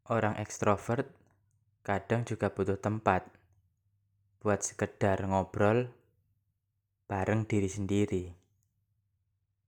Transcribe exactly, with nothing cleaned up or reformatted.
Orang ekstrovert kadang juga butuh tempat buat sekedar ngobrol bareng diri sendiri.